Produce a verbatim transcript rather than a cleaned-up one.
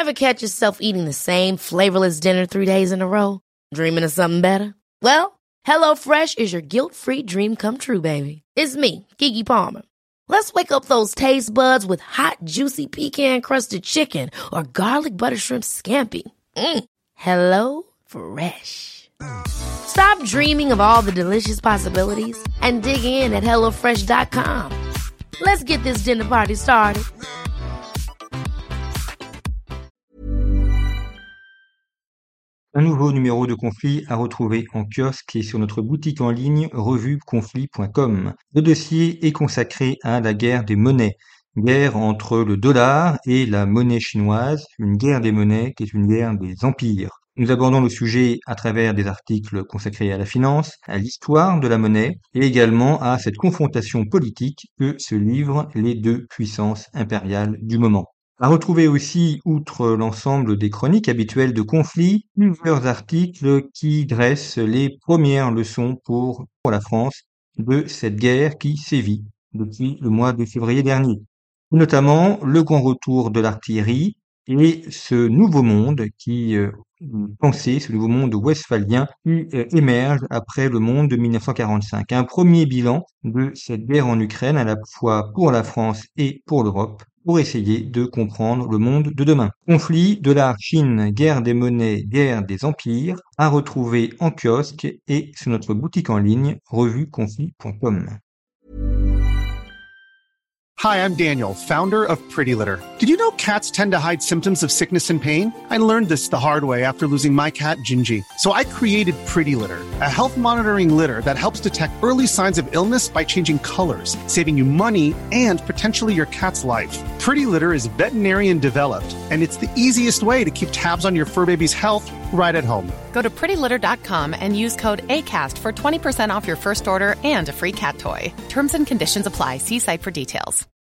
Ever catch yourself eating the same flavorless dinner three days in a row? Dreaming of something better? Well, HelloFresh is your guilt-free dream come true, baby. It's me, Keke Palmer. Let's wake up those taste buds with hot, juicy pecan-crusted chicken or garlic butter shrimp scampi. Mm. Hello Fresh. Stop dreaming of all the delicious possibilities and dig in at hello fresh dot com. Let's get this dinner party started. Un nouveau numéro de Conflit à retrouver en kiosque et sur notre boutique en ligne revue conflit point com. Le dossier est consacré à la guerre des monnaies. Guerre entre le dollar et la monnaie chinoise, une guerre des monnaies qui est une guerre des empires. Nous abordons le sujet à travers des articles consacrés à la finance, à l'histoire de la monnaie et également à cette confrontation politique que se livrent les deux puissances impériales du moment. À retrouver aussi, outre l'ensemble des chroniques habituelles de Conflit, plusieurs articles qui dressent les premières leçons pour, pour la France de cette guerre qui sévit depuis le mois de février dernier. Notamment le grand retour de l'artillerie et ce nouveau monde qui euh, pensait, ce nouveau monde westphalien qui euh, émerge après le monde de mille neuf cent quarante-cinq. Un premier bilan de cette guerre en Ukraine à la fois pour la France et pour l'Europe, pour essayer de comprendre le monde de demain. Conflit, dollar, Chine, guerre des monnaies, guerre des empires, à retrouver en kiosque et sur notre boutique en ligne, revue conflit point com. Hi, I'm Daniel, founder of Pretty Litter. Did you know cats tend to hide symptoms of sickness and pain? I learned this the hard way after losing my cat, Gingy. So I created Pretty Litter, a health monitoring litter that helps detect early signs of illness by changing colors, saving you money and potentially your cat's life. Pretty Litter is veterinarian developed, and it's the easiest way to keep tabs on your fur baby's health right at home. Go to pretty litter dot com and use code ACAST for twenty percent off your first order and a free cat toy. Terms and conditions apply. See site for details.